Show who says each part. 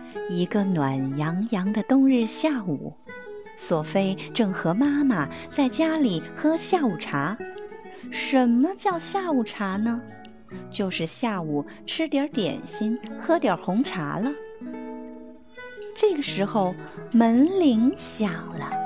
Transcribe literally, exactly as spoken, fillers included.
Speaker 1: 一个暖洋洋的冬日下午，索菲正和妈妈在家里喝下午茶。什么叫下午茶呢？就是下午吃点点心，喝点红茶了。这个时候，门铃响了。